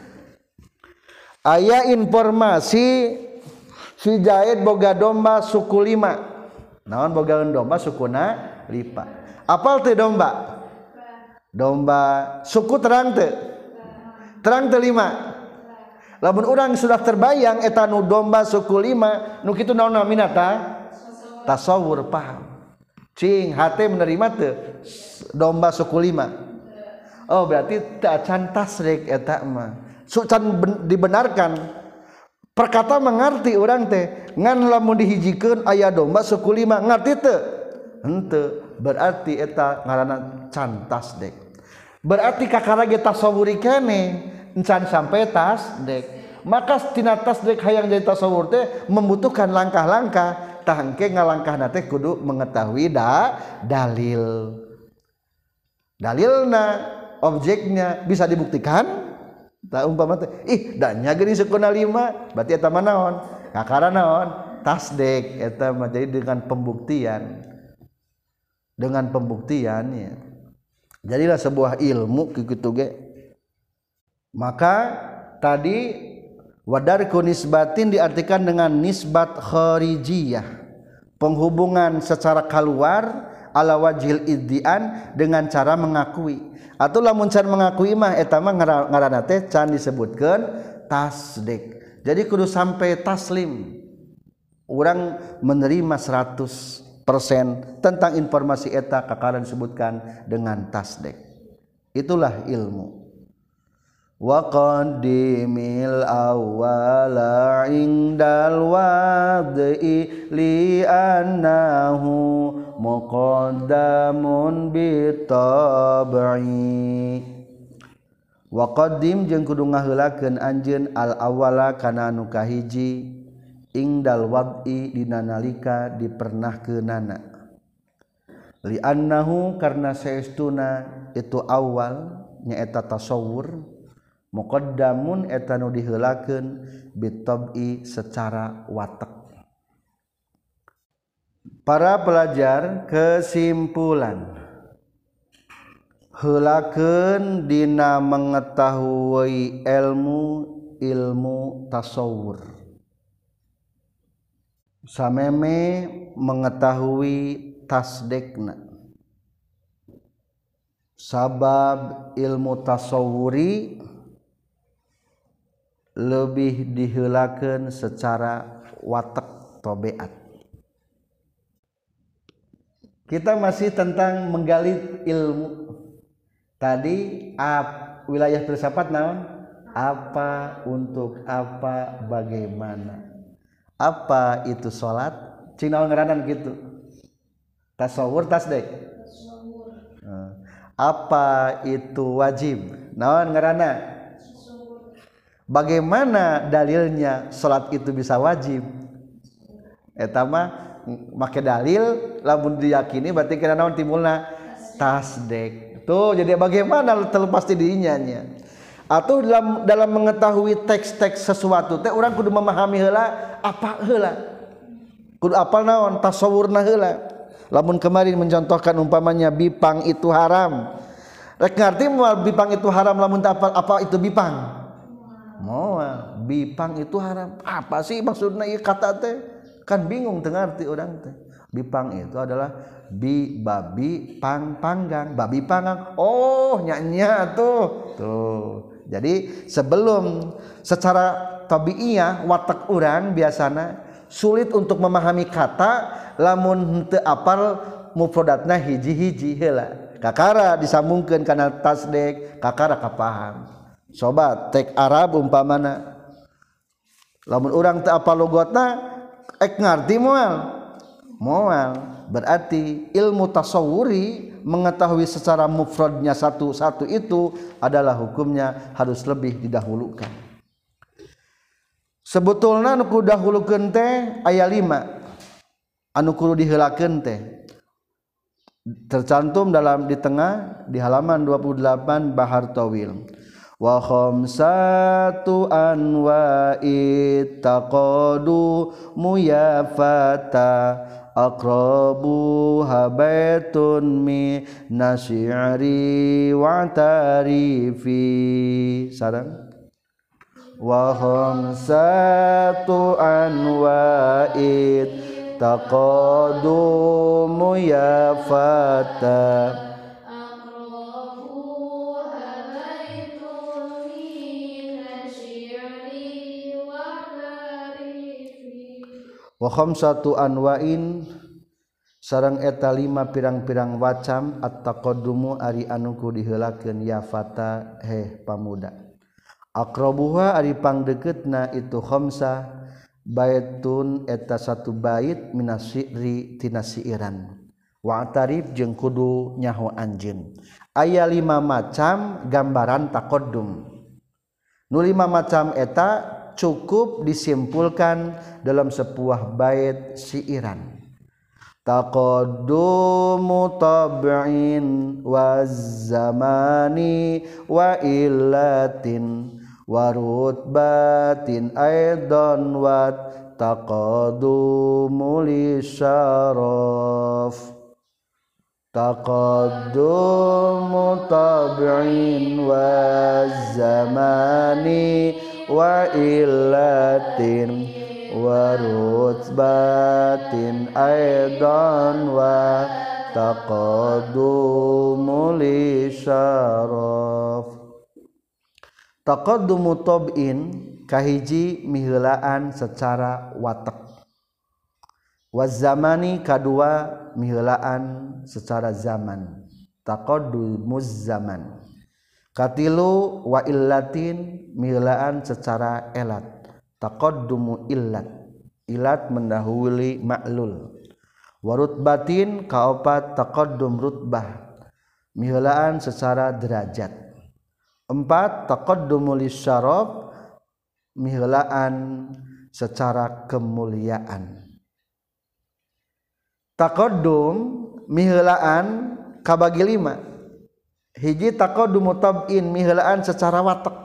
Aya informasi si Jaid boga domba suku lima. Naon bogaeun domba sukuna lipa. Apal teu domba? Domba suku terang teu? Terang teu lima. Lamun urang sudah terbayang eta nu domba suku lima, nu kitu naon namina tah? Tasawur, paham. Cing hate menerima teu domba suku lima? Oh, berarti teu acan tasrik eta mah. Sucan dibenarkan. Perkata mengerti orang teh ngan lamun dihijikeun aya domba suku lima ngarti teu? Henteu. Berarti eta ngaranna can tasdek. Berarti kakara ge tasawuri keneh encan sampai tasdek. Maka tina tasdek hayang jadi tasawur teh membutuhkan langkah-langkah. Tah engke ngalangkahna teh kudu mengetahui da dalil. Dalilna, objeknya bisa dibuktikan. Tak umpama teh ih da nya geuning sukuna lima berarti eta mah naon? Kakara naon? Tasdek. Eta mah jadi dengan pembuktian. Dengan pembuktiannya. Jadilah sebuah ilmu kitu ge. Maka tadi wadarku nisbatin diartikan dengan nisbat kharijiyah. Penghubungan secara keluar ala wajhil iddian dengan cara mengakui. Atau lamun can mengakui mah eta mah ngaranna teh can disebutkeun tasdik. Jadi kudu sampai taslim. Urang menerima seratus persen tentang informasi eta kakara disebutkan dengan tasdik. Itulah ilmu. Wa qaddimil awwala indal wad'i li annahu muqaddamun bitab'i. Wa qaddim jeung kudu ngaheulakeun anjeun al awwala kana anu kahiji ingdal wad'i dina nalika dipernahkeunana. Li annahu karna saestuna itu awal nyaeta tasawur. Muqaddamun eta nu diheulakeun bitab'i secara watek. Para pelajar, kesimpulan heulakeun dina mengetahui ilmu ilmu tasawur. Sameme mengetahui tasdekna. Sabab ilmu tasawuri lebih diheulakeun secara watek tobeat. Kita masih tentang menggali ilmu. Tadi ap, wilayah filsafat naon? Apa, untuk apa, bagaimana. Apa itu salat? Cing naon ngaranan gitu? Tasawur, tasdek. Apa itu wajib? Naon ngaranna? Bagaimana dalilnya salat itu bisa wajib? Eta mah make dalil lamun diyakini berarti kira naon timbulna tasdek. Tuh, jadi bagaimana terlepas dirinya nya. Atau dalam dalam mengetahui teks-teks sesuatu teh urang kudu memahami heula apa heula. Kudu apal naon tasawurna heula. Lamun kemarin mencontohkan umpamanya bipang itu haram. Rek ngarti moal bipang itu haram lamun teu apal apa itu bipang. Moal bipang itu haram. Apa sih maksudna ieu kata teh? Kan bingung teu ngarti urang teh. Bipang itu adalah bi babi pang panggang, babi panggang. Oh, nya-nya tuh. Tuh. Jadi sebelum secara tabiiyah watak urang biasana sulit untuk memahami kata lamun teu apal mufradatna hiji-hiji heula. Kakara disambungkeun kana tasdek, kakara kapaham. Sobat tek Arab umpamana lamun urang teu apal logotna ek ngarti moal. Moal berarti ilmu tasawuri mengetahui secara mufradnya satu-satu itu adalah hukumnya harus lebih didahulukan. Sebetulna anu kudu dahulukeun teh aya lima anu kudu diheulakeun teh. Tercantum dalam di tengah di halaman dua puluh delapan Bahar Tawil. Wa khamsatu anwa'it taqadu muyafata aqrabu habaitun mi nasy'ari wa tarifi sareng wa khamsatu anwa'it taqadumu ya fata wa khamsatu anwa'in sareng eta lima pirang-pirang wacam at-taqaddumu ari anu kudu diheulakeun ya fata heh pamuda. Aqrabuha ari pangdeukeutna itu khamsah baitun eta satu bait minasyi'ri tina syi'iran wa tarif jeung kudu nyaho anjeun. Aya lima macam gambaran taqaddum. Nu lima macam eta cukup disimpulkan dalam sebuah bait syi'iran. Taqaddumu tab'in wa zamani wa illatin wa rutbatin aidan wa taqaddumu li syaraf. Taqaddumu tab'in wa zamani wa illatin wa rutbatin aidan wa taqaddumu li syaraf. Taqaddumu tab'in kahiji miheulaan secara watak. Wa zamani kadua miheulaan secara zaman. Taqaddumuz zaman. Katilu wa illatin miheulaan secara elat. Taqaddumu illat. Illat mendahului ma'lul. Wa rutbatin kaopat taqaddum rutbah. Miheulaan secara derajat. Empat taqaddumu lisyaraf miheulaan secara kemuliaan. Taqaddum miheulaan kabagi lima. Hiji taqaddumu tab'in miheulaan secara watak.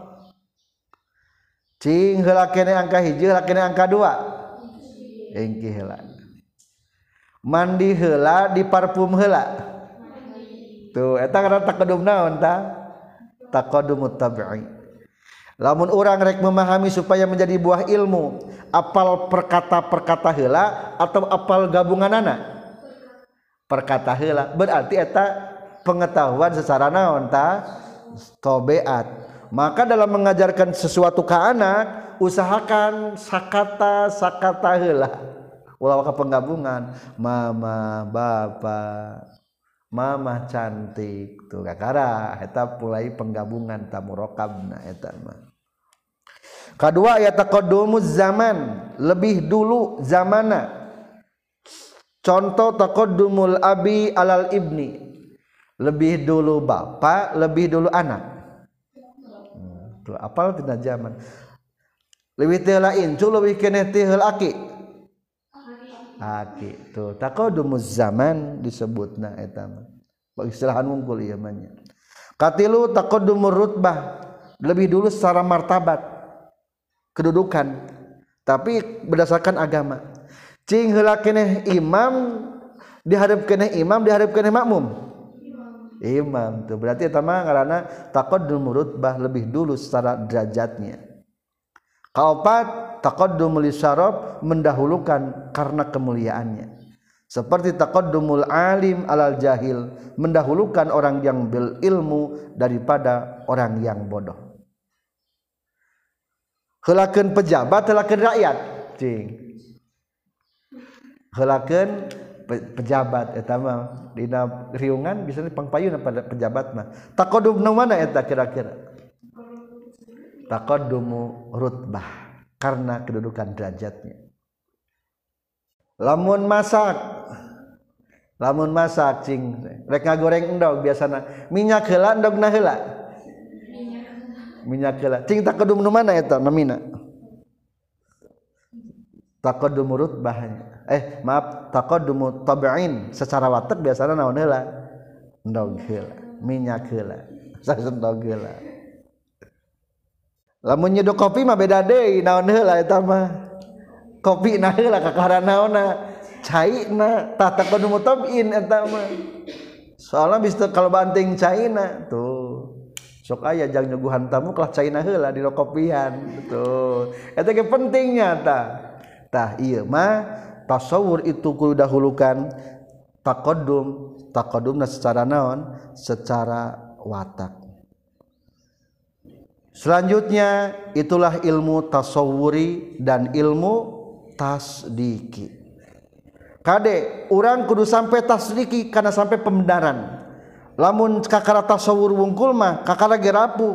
Cing heula kene angka hiji heula kene angka dua. Engki heula. Mandi heula di parfum heula. Tuh eta ngaranna taqaddum naon tah? Taqaddumu tab'i. Lamun urang rek memahami supaya menjadi buah ilmu, apal perkata-perkata heula atau apal gabunganana? Perkata heula. Berarti eta pengetahuan secara naon tah tabiat. Maka dalam mengajarkan sesuatu ke anak usahakan sakata sakata heula ulah ka penggabungan mama bapa mama cantik tuh kakara eta mulai penggabungan tamurokabna eta mah. Kadua aya taqaddumuz zaman lebih dulu zamana. Contoh taqaddumul abi alal ibni lebih dulu bapak, lebih dulu anak. Hmm, tuh apal tina zaman. Leuwih teh lain, cu leuwih keneh teh heul aki. Aki tuh taqaddumuz zaman disebutna eta mah. istilahan wungkul ieu mah nya. Katilu taqaddumur rutbah, lebih dulu secara martabat kedudukan tapi berdasarkan agama. Cing heula keneh imam dihareup keneh imam dihareup keneh makmum. Imam tuh berarti eta mah ngaranna taqaddumur rutbah, lebih dulu secara derajatnya. Kaopat taqaddumul syaraf, mendahulukan karena kemuliaannya. Seperti taqaddumul alim alal jahil, mendahulukan orang yang berilmu daripada orang yang bodoh. Heulakeun pejabat, heulakeun rakyat, cing. Heulakeun pejabat eta mah dina riungan bisa dipangpayun pada pejabat mah. Taqaddum nu mana eta kira-kira? Taqaddumu rutbah, karena kedudukan derajatnya. Lamun masak, lamun masak cing rek ngagoreng endog biasana minyak heula endogna heula minyak heula cing taqaddum nu mana eta namina taqaddum rutbahnya eh maaf taqaddum tab'in secara watak biasana naon heula endog heula minyak heula sasendog heula. Lamun nyeduh kopi mah beda deui naon heula eta mah kopi na heula kakara naonna caina tah taqaddum tab'in eta mah soalna bisa kalau banting caina tuh sok aya jang nyuguhan tamu kelah caina heula di kopian tuh eta ge pentingnya tah tah ieu mah tasawur itu kudu dahulukan taqaddum taqaddumna secara naon secara watak. Selanjutnya itulah ilmu tasawuri dan ilmu tasdiki. Kade urang kudu sampai tasdiki karena sampai pembenaran. Lamun kakara tasawur wungkul mah kakara ge rapuh.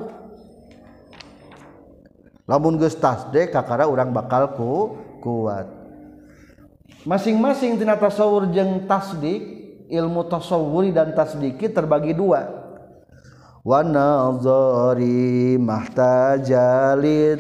Lamun geus tasdik kakara urang bakal ku kuat. Masing-masing tina tasawur jeung tasdik, ilmu tasawuri dan tasdiki terbagi dua. Wa nazari mahtaja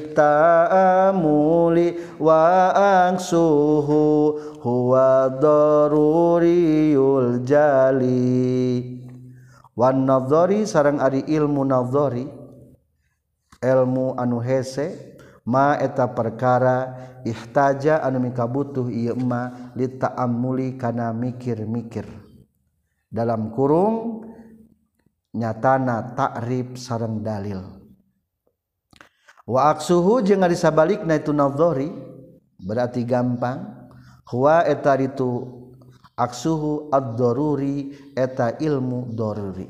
litamuli wa angsuhu huwa daruriyul jali. Wa nazari sareng ari ilmu nazari ilmu anu hese ma eta perkara ihtaja anu mikabutuh ieu ma litaamuli kana mikir-mikir dalam kurung nyatana takrib sareng dalil. Wa aksuhu jeung ari sabalikna itu nadhari berarti gampang huwa eta itu aksuhu ad-daruri eta ilmu daruri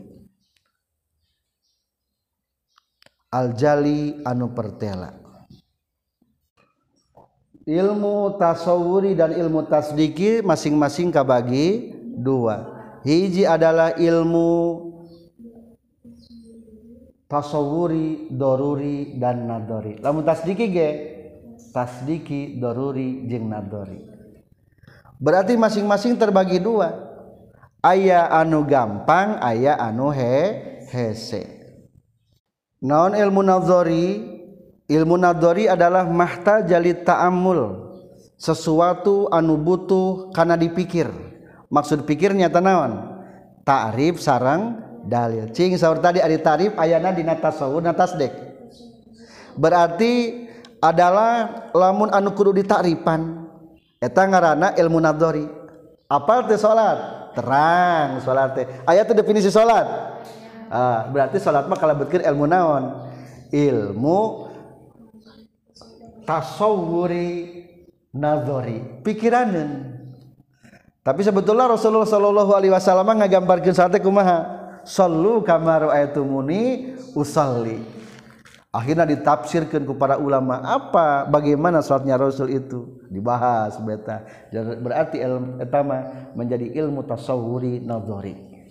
al-jali anu pertela. Ilmu tasawuri dan ilmu tasdiki masing-masing kabagi dua. Hiji adalah ilmu tasawuri, doruri dan nadori. Lamun tasdiki ge tasdiki, doruri jeung nadori. Berarti masing-masing terbagi dua. Aya anu gampang, aya anu he hese. Naon ilmu nadori? Ilmu nadori adalah mahtaja li ta'ammul, sesuatu anu butuh kana dipikir. Maksud pikirnya tanawan ta'rif sareng dalil. Cing saur tadi ari tarif ayana dina tasawuf na tasdik. Berarti adalah lamun anu kudu ditakrifan eta ngaranna ilmu nadhari. Apal teh salat? Terang salat teh. Aya teh definisi salat. Ah, berarti salat mah kalebetkeun ilmu naon? Ilmu tasawuri nadhari, pikiraneun. Tapi sebetulnya Rasulullah sallallahu alaihi wasallam ngagambarkeun salat teh kumaha? Sallu kama ra'aitumuni usalli. Akhirnya ditafsirkan kepada ulama apa bagaimana salatnya Rasul itu dibahas beta. Berarti ilmu etama menjadi ilmu tasawuri nadhari.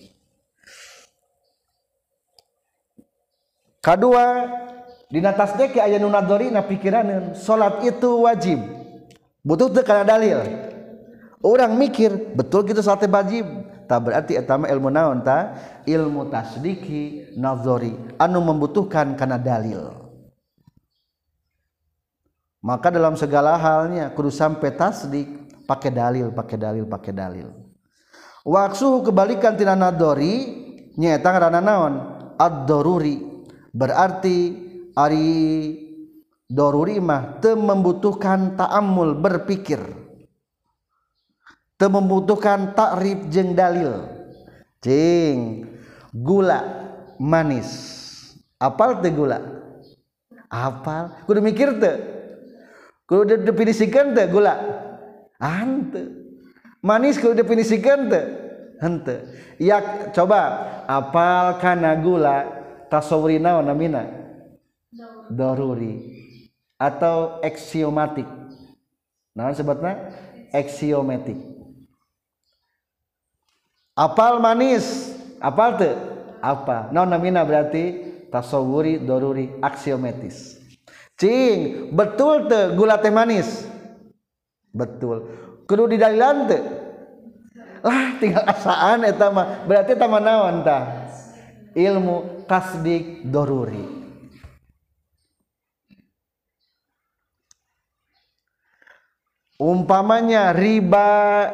Kedua, dina tasdik aya nu nadhari na pikiraneun salat itu wajib. Butuh teu kana dalil. Orang mikir betul gitu salat wajib. Tak berarti etama ilmu naon ta? Ilmu tasdiki nadhari anu membutuhkan kana dalil. Maka dalam segala halnya kudu sampai tasdik pakai dalil, pakai dalil, pakai dalil. Waksuhu kebalikan tina nadhari nyaeta ngaranna naon ad-daruri berarti ari daruri mah teu membutuhkan ta'ammul berpikir teu membutuhkan takrif jeung dalil cing gula manis apal teu gula apal kudu mikir teu kudu definisikan teu gula henteu manis kudu definisikan teu henteu ya coba apal kana gula tasawuri naon namina daruri atau axiomatik naon sebutna axiomatik apal manis apal teu apa naon namina berarti tasawuri daruri aksiomatis cing betul teu gula teh manis betul kudu didalilan teu lah tinggal asaan eta mah berarti eta mah naon tah ilmu tasdik daruri umpamanya riba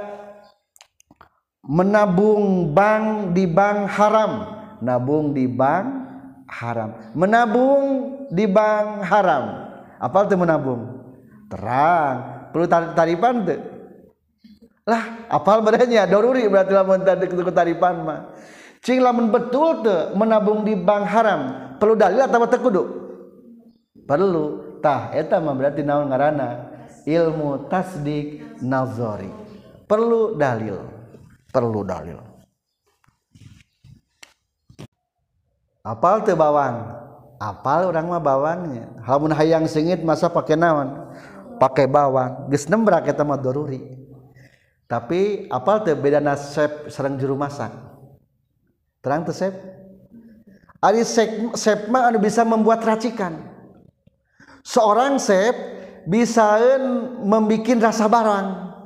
menabung bank di bank haram nabung di bank haram menabung di bank haram apal teu menabung terang perlu taripan teu lah apal badannya daruri berarti lamun taripan mah cing lamun betul teu menabung di bank haram perlu dalil atawa teu kudu perlu tah eta mah berarti naon ngaranna ilmu tasdik nazari perlu dalil perlu dalil apal teu bawang apal urang mah bawangnya lamun hayang sengit masa pake naon pake bawang geus nembrak eta mah daruri tapi apal teu bedana chef sareng juru masak terang teu chef ari chef mah anu bisa membuat racikan seorang chef bisaeun membikin rasa barang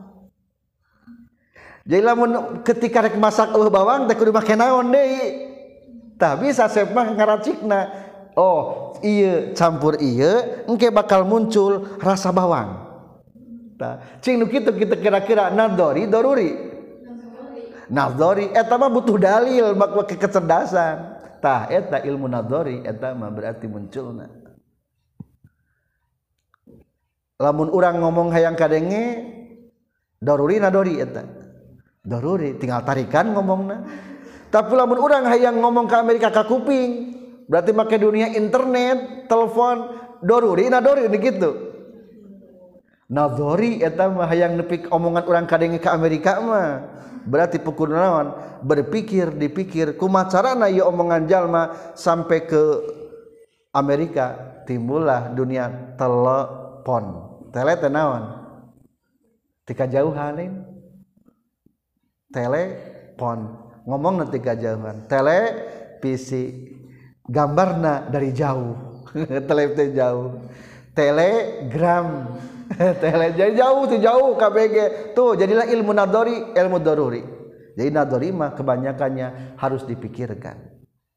jadi lamun ketika rek masak eueuh bawang teh kudu make naon deui tah bisa chef mah ngaracikna oh ieu campur ieu engke bakal muncul rasa bawang tah cing nu kitu kita kira-kira nadori daruri nadori eta mah butuh dalil make kecerdasan tah eta ilmu nadori eta mah berarti munculna lamun urang ngomong hayang kadenge daruri nadori eta daruri tinggal tarikan ngomongna tapi lamun urang hayang ngomong ke Amerika ka kuping berarti make dunia internet telepon daruri nadori gitu nadori eta mah hayang nepik omongan urang kadenge ke Amerika mah berarti pukul naon berpikir dipikir kumaha carana ieu omongan jalma sampai ke Amerika timbullah dunia telepon tele teh naon ti kajauhan telepon ngomong nanti kajauhan televisi gambarna dari jauh tele teh jauh telegram tele jadi jauh tuh jauh K B G tuh jadilah ilmu nadori ilmu daruri jadi nadori mah kebanyakannya harus dipikirkan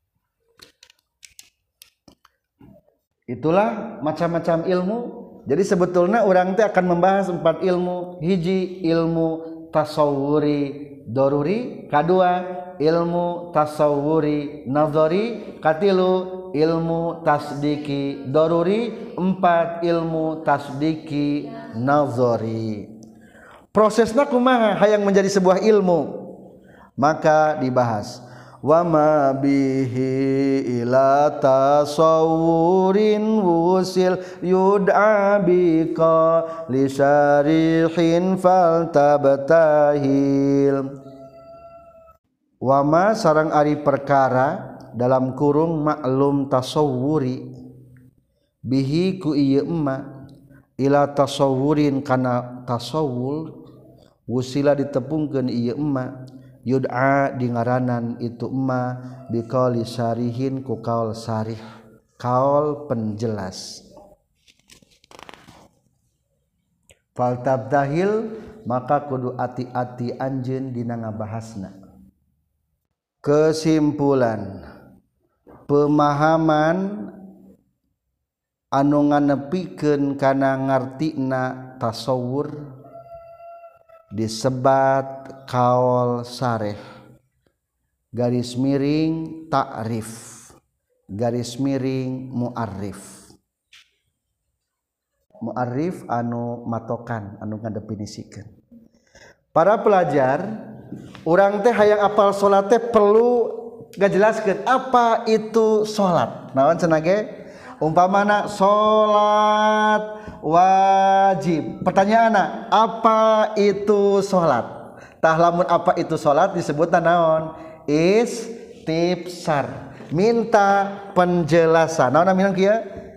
itulah macam-macam ilmu jadi sebetulnya orang teh akan membahas empat ilmu hiji ilmu tasawuri daruri kadua ilmu tasawuri nadori katilu ilmu tasdiki daruri empat ilmu tasdiki nazari prosesna kumaha hayang menjadi sebuah ilmu maka dibahas wa ma bihi ila tasawurin wusil yud'a bika li syarihin fal tabtahil wa ma sareng ari perkara dalam kurung maklum tasawuri bihi ku ieu emma ila tasawurin kana tasawur wusila ditepungkeun ieu emma yud'a di ngaranan itu emma biqauli syarihin ku kaul syarih kaul penjelas fal tabdahil maka kudu ati-ati anjeun dina ngabahasna kesimpulan pemahaman anu nganepikeun kana ngartina tasawur disebat kaul sareh garis miring ta'rif garis miring mu'arrif. Mu'arrif anu matokan anu ngadefinisikeun. Para pelajar, urang teh hayang apal salat teh perlu ngajelaskeun apa itu salat. Naon cenah ge? Umpamana salat wajib. Pertanyaanna, apa itu salat? Tah lamun apa itu salat disebutna naon? Istifsar. Minta penjelasan. Naon namina kieu?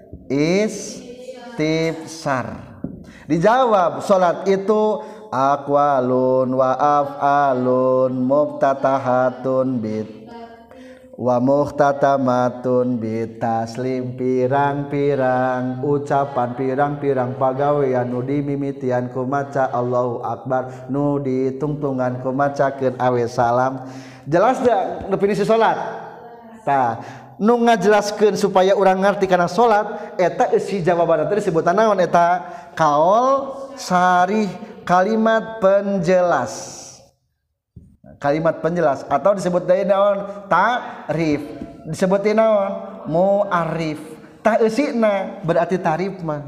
Istifsar. Dijawab salat itu aqwalun wa af'alun muftatahatun bit wa muhtatamatun bitaslim pirang-pirang ucapan pirang-pirang pagawean nu dimimitian ku maca Allahu Akbar nu ditungtungan ku macakeun awe salam. Jelas da definisi salat? Tah, nu ngajelaskeun supaya urang ngarti kana salat eta isi jawabanna teh disebutna naon eta? Qaul sarih, kalimat penjelas. Kalimat penjelas atau disebut deui naon? Ta'rif. Disebut naon? Mu'arrif. Tah eusina berarti ta'rif mah.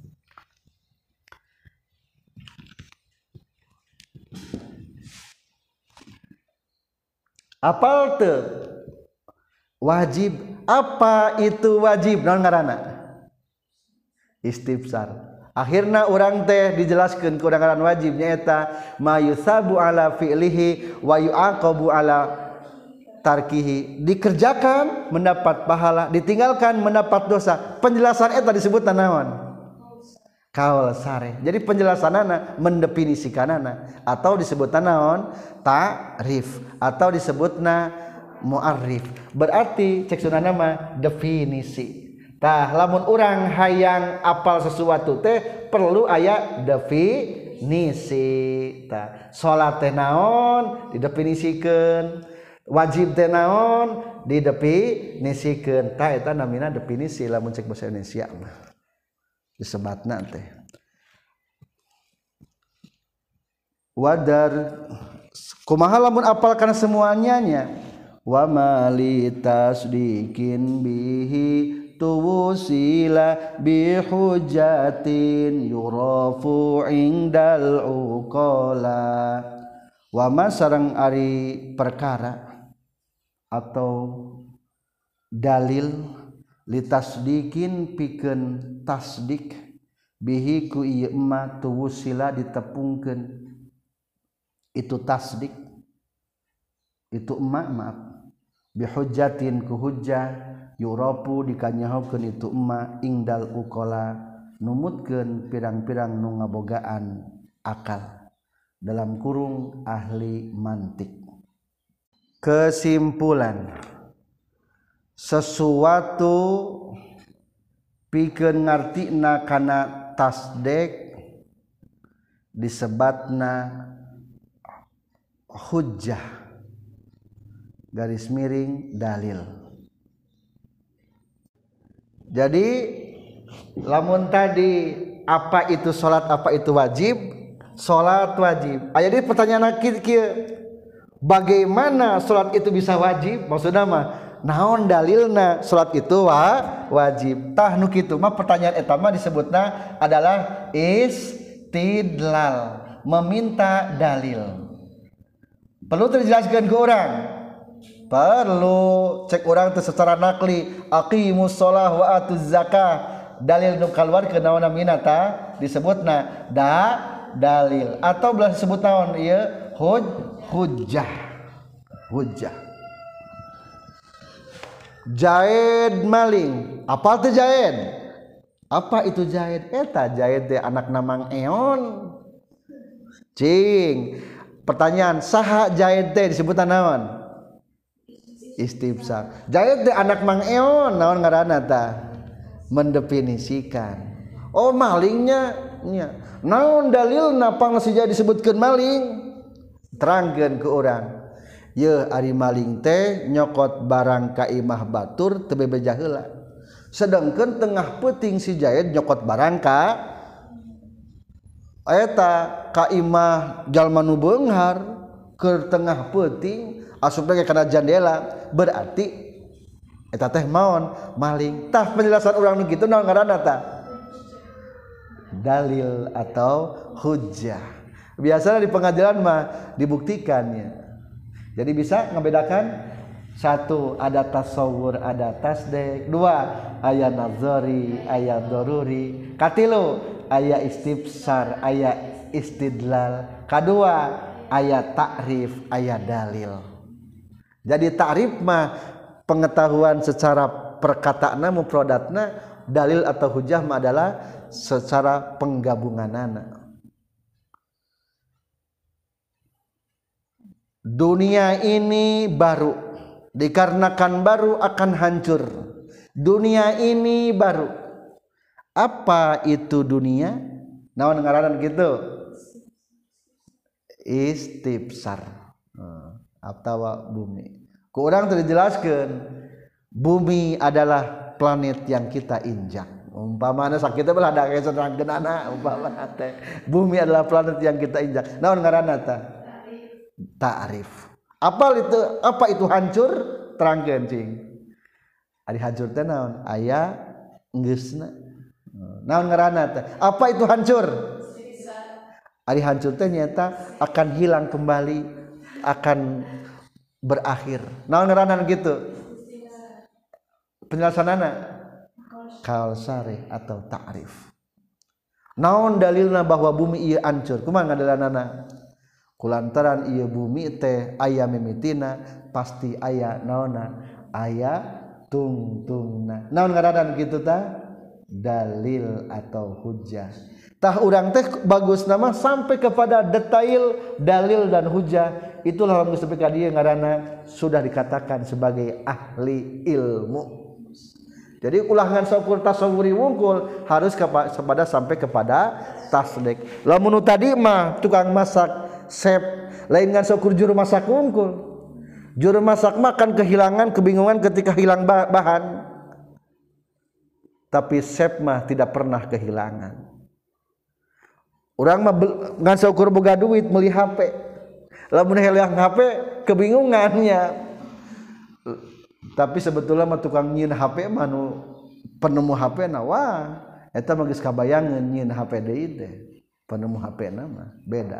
Apal teu? Wajib. Apa itu wajib? Naon ngaranna? Istifsar. Akhirna urang teh dijelaskeun ku urang ngaran wajib nyaeta mayusabu ala fi'lihi wa yu'aqabu ala tarkihi. Dikerjakan mendapat pahala, ditinggalkan mendapat dosa. Penjelasan eta disebutna naon? Qaul sarih. Jadi penjelasanana mendefinisikanana atau disebutna naon? Ta'rif atau disebutna mu'arrif. Berarti cek sunana mah definisi. Tah lamun urang hayang apal sesuatu teh perlu aya definisi. Tah salat teh naon didefinisikeun, wajib teh naon didefinisikeun. Tah eta namina definisi lamun cek basa Indonesia mah disebatna teh. Wadar kumaha lamun apal kana semuanya nya? Wa mali tasdiqin bihi tuwusila bihujatin yurafu indal uqala. Wa ma sareng ari perkara atau dalil litasdiqin pikeun tasdik bihi ku ieu ma tuwusila ditepungkeun itu tasdik itu emak maaf bihujatin ku hujjah yurapu dikanyahokeun itu emma ingdal uqala numutkeun pirang-pirang nu ngabogaan akal dalam kurung ahli mantik. Kesimpulan, sesuatu pikeun ngartina kana tasdek disebatna hujjah garis miring dalil. Jadi lamun tadi apa itu salat, apa itu wajib? Salat wajib. Aya di pertanyaan kieu, bagaimana salat itu bisa wajib? Maksudna mah naon dalilna salat itu wa wajib? Tah nu kitu mah pertanyaan eta mah disebutna adalah istidlal, meminta dalil. Perlu terjelaskan ke orang? Perlu. Cek orang itu secara nakli, aqimus shalah wa atuz zakah, dalil nu kaluarkeun naon namina ta disebutna da dalil atau belah disebut naon ieu huj hujjah hujjah. Jaid maling, apa teh jaid? Apa itu jaid? Eta jaid teh anak namang eon cing. Pertanyaan, saha jaid teh disebutna naon? Istifsar. Jaid teh anak mang eon, naon ngaranna tah? Mendefinisikan. Oh malingnya nya. Naon dalilna pang si jaid disebutkeun maling? Terangkeun ke urang. Ye ari maling teh nyokot barang ka imah batur teu bebeja heula. Sedengkeun tengah peuting si jaid nyokot barang ka eta ka imah jalma nu beunghar keur tengah peuting asupna kana jandela berarti eta teh maon maling. Tah penjelasan urang nu kitu naon ngaranna tah? Dalil atau hujjah. Biasanya di pengadilan mah dibuktikannya. Jadi bisa ngebedakan satu ada tasawur, ada tasdek. Dua aya nazari, aya daruri. Katilu aya istifsar, aya istidlal. Kadua aya takrif, aya dalil. Jadi takrif mah pengetahuan secara perkataanna mufradatna, dalil atau hujjah mah adalah secara penggabunganana. Dunia ini baru, dikarenakan baru akan hancur. Dunia ini baru. Apa itu dunia? Naon ngaranna gitu? Istifsar. Atawa bumi. Ku urang teu dijelaskeun. Bumi adalah planet yang kita injak. Umpamana sakitu belah da keserangkeunana umpamana teh. Bumi adalah planet yang kita injak. Naon ngaranna tah? Ta'rif. Apa itu apa itu hancur? Terangkeun cing. Ari hancur teh naon? Aya geusna. Naon ngaranna teh? Apa itu hancur? Ari hancur teh nyata akan hilang kembali, akan berakhir. Naon ngaranna gitu? Penjelasanana kausari atau ta'rif. Naon dalilna bahwa bumi ieu hancur? Kumaha ngadalanana? Kulantaran ieu bumi teh aya mimitina pasti aya naonna? Aya tungtungna. Naon ngaranna kitu tah? Dalil atau hujjah. Tah urang teh bagus nama sampai kepada detail dalil dan hujjah. Itulah lamun sampai ka dieu ngaranna sudah dikatakan sebagai ahli ilmu. Jadi ulangan saukur tasawuri wungkul harus kepada sampai kepada tasdik. Lamun tadi mah tukang masak chef lain ngan saukur juru masak wungkul. Juru masak makan kehilangan kebingungan ketika hilang bahan. Tapi chef mah tidak pernah kehilangan. Urang mah ngan saukur boga duit meuli H P. Lamun hilang H P kebingungannya. Tapi sebetulnya mah tukang nyieun H P mah nu penemu H P na wah eta mah geus kabayangeun nyieun H P deui teh. Penemu H P na mah beda.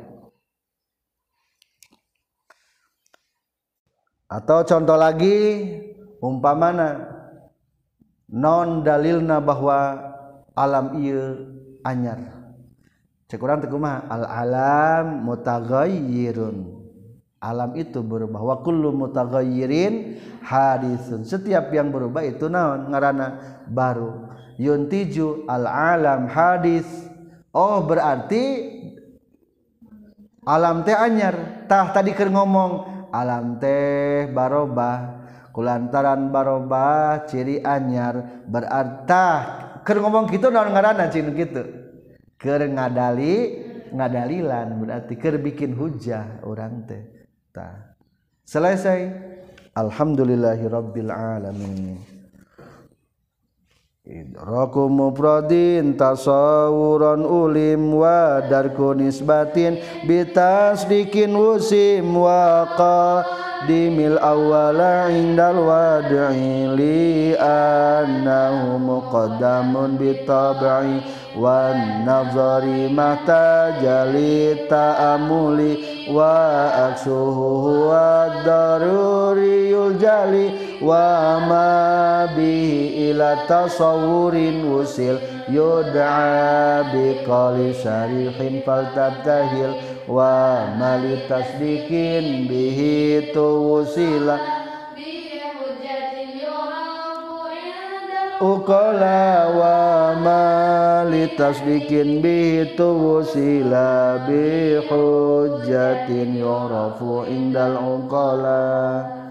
Atau contoh lagi umpamana non dalilna bahwa alam ieu anyar. Cek urang teh kumaha? Al alam mutaghayyirun. Alam itu berubah. Wa kullu mutaghayyirin hadisun. Setiap yang berubah itu naon ngaranna? Baru. Yuntiju al alam hadis. Oh berarti alam teh anyar. Tah tadi keur ngomong alam teh barobah. Kulantaran barobah ciri anyar berarti keur ngomong kitu naon ngaranna cing kitu? Keur ngadali ngadalilan berarti keur bikin hujjah urang teh. Tah. Selesai. Alhamdulillahirabbil alamin. Idraku mufradin tasawuran ulim wa darku nisbatin bitasdikin wusim wa qadimil awwala indal wad'i li annahu muqaddamun bitab'i wan nazari mata jali ta'amuli wa aksuhu wa daruriyul jali wa ma bihi ila tasawurin wusil yud'a biqali syarihin faltabtahil wa mali tasdikin bihi tuwusila uqala wa mali tasdikin bihi tuwusila bi hujjatin yurafu indal uqala.